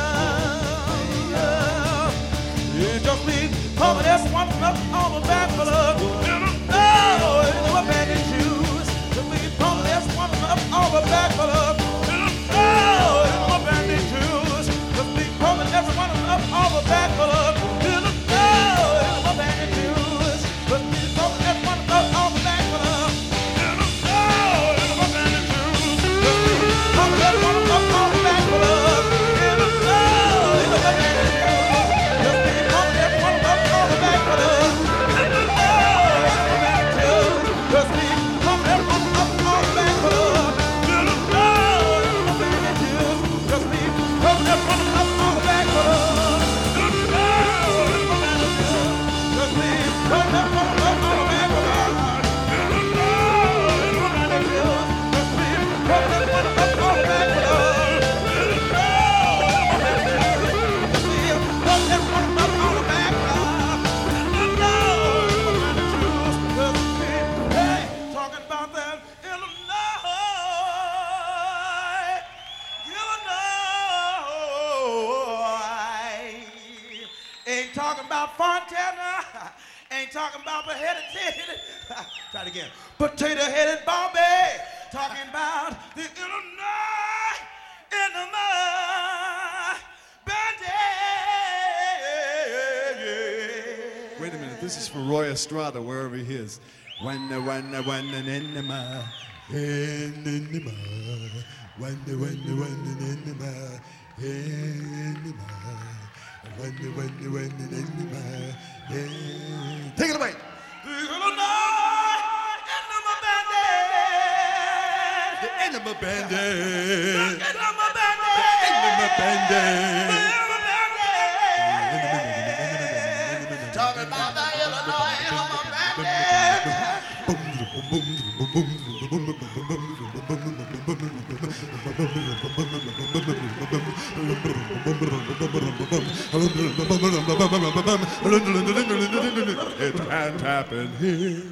He just be pumping every one of them up and all the back for Oh, in my bandit shoes. Just be pumping every one of them up and all the back for Oh, in my bandit shoes. Just be pumping every one of them up and all the back for Oh, in my bandit shoes. Just be pumping every one of them up and all the back for Oh, in my bandit shoes. Just be pumping every one of them up and all the back for Oh, in my bandit shoes. Just be pumping every one of them up and all the back for Oh, just be pumping every one up and all the back for love. Just be pumping every one up and all the back for love. Just be pumping every one up and all the back for love. Just be pumping every one up and all the back for love. Just be pumping every one up and all the back for love. Talking about that Illinois, Illinois. Ain't talking about Fontana, ain't talking about potato-headed, try it again, potato-headed Bobby. Talking about the Illinois, Illinois bandit. Wait a minute, this is for Roy Estrada, wherever he is. When the when the when the in the ma in the ma when the when the when the in the ma in the ma when the when the when the in the ma in. Take it away. The Illinois Enema Bandit. The Enema Bandit. The Enema Bandit. The Enema Bandit. Talking about the Illinois Enema Bandit. It can't happen here.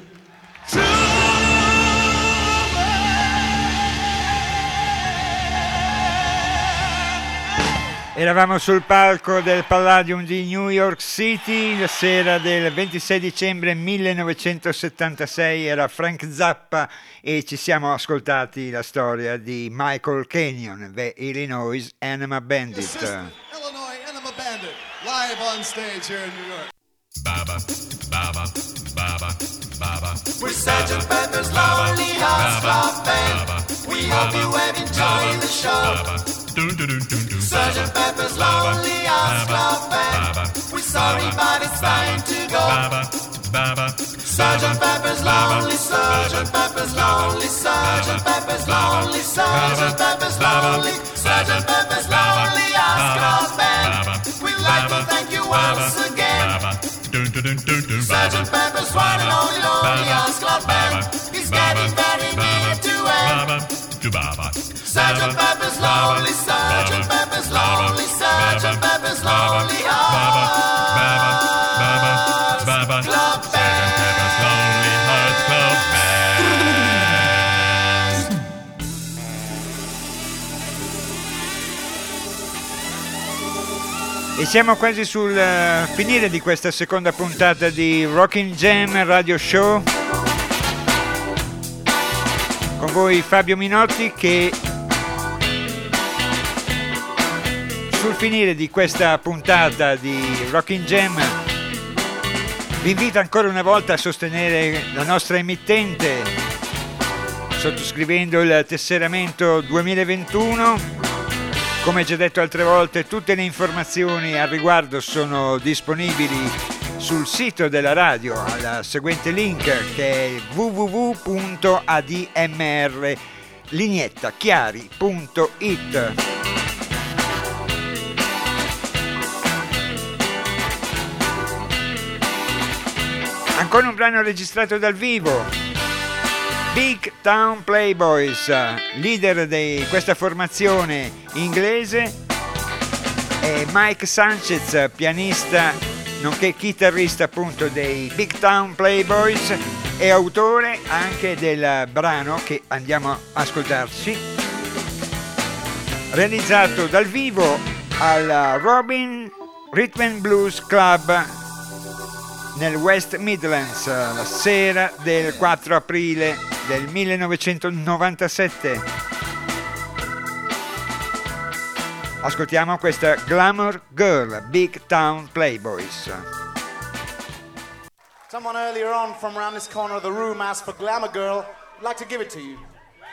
Eravamo sul palco del Palladium di New York City la sera del ventisei dicembre millenovecentosettantasei, era Frank Zappa e ci siamo ascoltati la storia di Michael Kenyon, The Illinois Enema Bandit. Illinois Enema Bandit, live on stage here in New York. Baba, baba, baba, baba. We're Sergeant Pepper's Lonely Hearts Club Band. We hope you have enjoyed the show. Sergeant Pepper's Lonely Hearts Club Band. We're sorry, but it's time to go. Sergeant Pepper's Lonely, Sergeant Pepper's Lonely, Sergeant Pepper's Lonely, Sergeant Pepper's Lonely, Sergeant Pepper's Lonely Hearts Club Band. We'd like to thank you once again. Sergeant Pepper's one and only Lonely Hearts Club Band is getting very near to end. Sergeant Pepper's Lonely, Sergeant Pepper's Lonely, Sergeant Pepper's Lonely Hearts Club Band. E siamo quasi sul uh, finire di questa seconda puntata di Rockin' Jam Radio Show. Con voi Fabio Minotti che sul finire di questa puntata di Rockin' Jam vi invito ancora una volta a sostenere la nostra emittente sottoscrivendo il tesseramento duemilaventuno. Come già detto altre volte, tutte le informazioni al riguardo sono disponibili sul sito della radio al seguente link che è w w w punto a d m r lignetta chiari punto i t. Ancora un brano registrato dal vivo. Big Town Playboys, leader di questa formazione inglese, e Mike Sanchez, pianista nonché chitarrista appunto dei Big Town Playboys e autore anche del brano che andiamo a ascoltarci, realizzato dal vivo al Robin Rhythm and Blues Club nel West Midlands la sera del quattro aprile del millenovecentonovantasette. Ascoltiamo questa Glamour Girl, Big Town Playboys. Someone earlier on from around this corner of the room asked for Glamour Girl. I'd like to give it to you.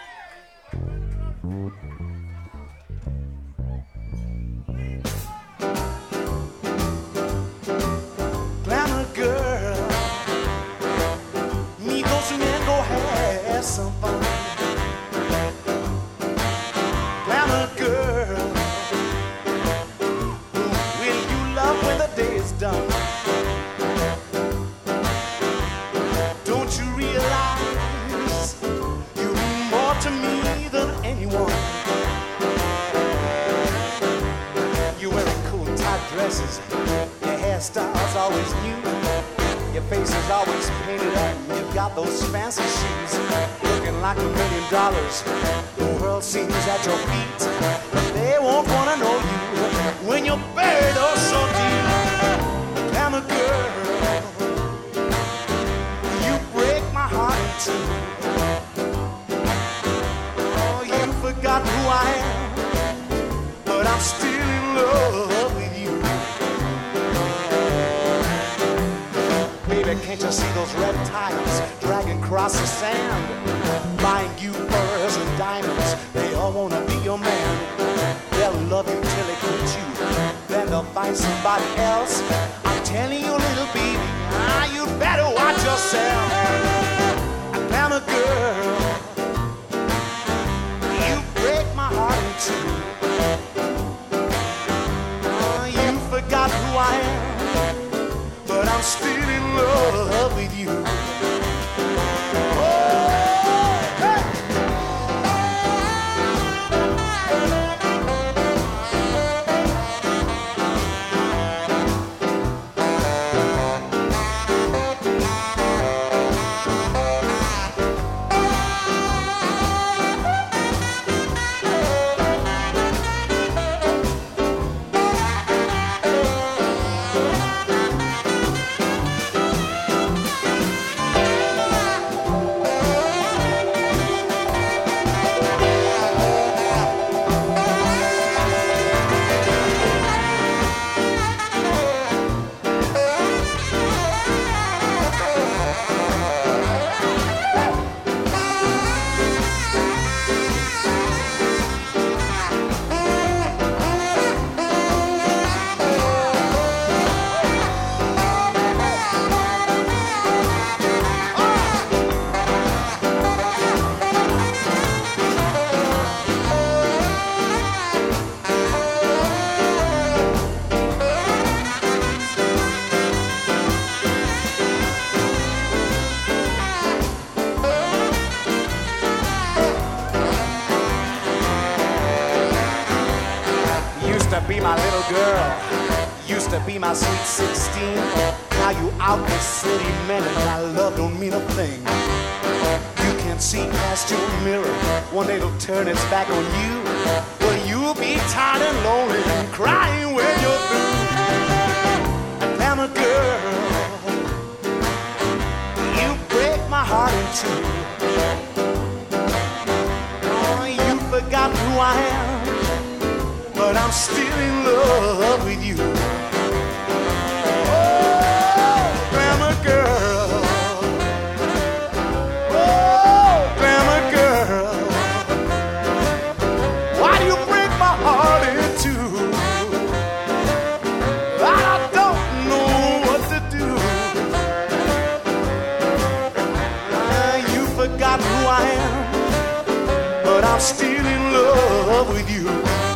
Glamour girl, me go swing and go have some fun. Glamour girl, who will you love when the day is done? Don't you realize you mean more to me than anyone? You're wearing cool tight dresses, your hairstyle's always new, your face is always painted up, and you've got those fancy shoes, looking like a million dollars. The world seems at your feet, but they won't wanna know you when you're buried oh so deep. Glamour girl, you break my heart in two. Oh, you forgot who I am, but I'm still in love with you. Baby, can't you see those red tides dragging across the sand? Buying you pearls and diamonds, they all wanna be your man. They'll love you till they quit you, then they'll find somebody else. I'm telling you, little baby, ah, you better watch yourself. Glamour girl, you break my heart in two. Oh, you forgot who I am, but I'm still in love with you. Oh, hey! be my little girl, used to be my sweet sixteen. Now you out the city, man, and my love don't mean a thing. You can see past your mirror, one day it'll turn its back on you. Well, you'll be tired and lonely and crying when you're through. Glamour girl, you break my heart in two. Oh, you forgot who I am, but I'm still in love with you. Oh, glamour girl, oh, glamour girl, why do you break my heart in two? I don't know what to do. Ah, you forgot who I am, but I'm still in love with you.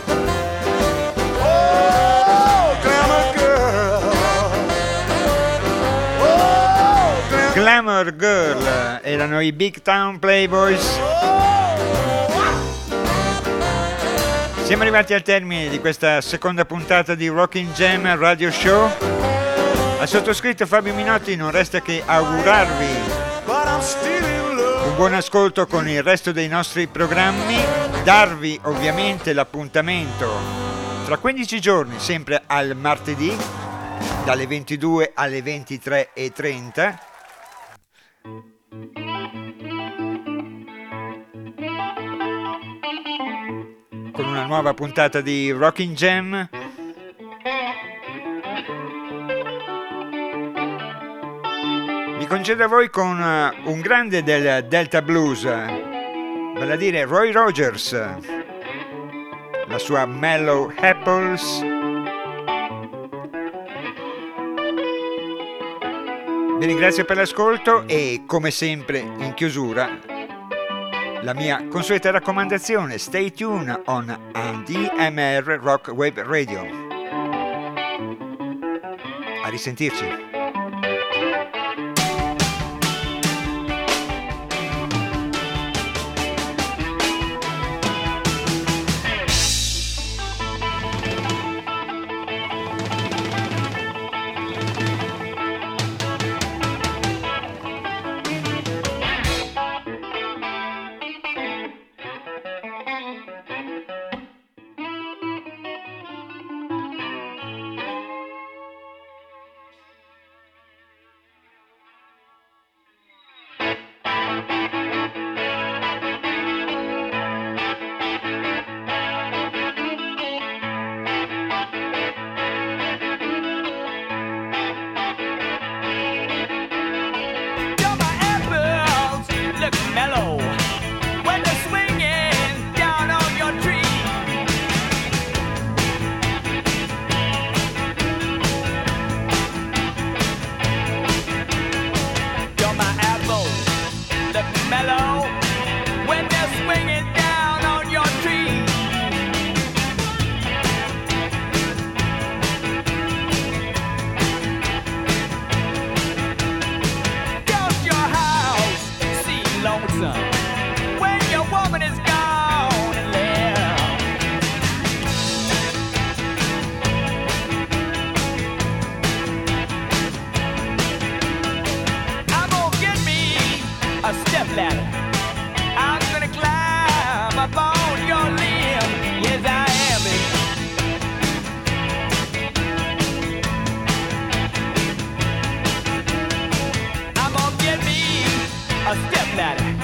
Glamour Girl erano i Big Town Playboys. Siamo arrivati al termine di questa seconda puntata di Rockin' Jam Radio Show. Al sottoscritto Fabio Minotti non resta che augurarvi un buon ascolto con il resto dei nostri programmi, darvi ovviamente l'appuntamento tra quindici giorni, sempre al martedì, dalle ventidue alle ventitré e trenta. Con una nuova puntata di Rockin' Jam. Mi concedo a voi con uh, un grande del Delta Blues, vale a dire Roy Rogers, la sua Mellow Apples. Vi ringrazio per l'ascolto e, come sempre, in chiusura, la mia consueta raccomandazione: stay tuned on A D M R Rock Wave Radio. A risentirci. A step ladder.